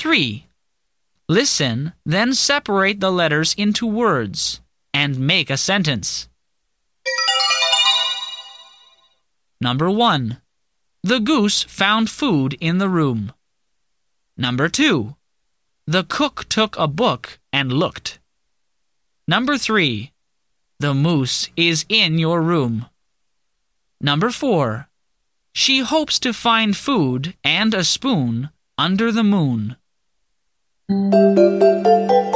3. Listen, then separate the letters into words and make a sentence. Number 1. The goose found food in the room. Number 2. The cook took a book and looked. Number 3. The moose is in your room. Number 4. She hopes to find food and a spoon under the moon.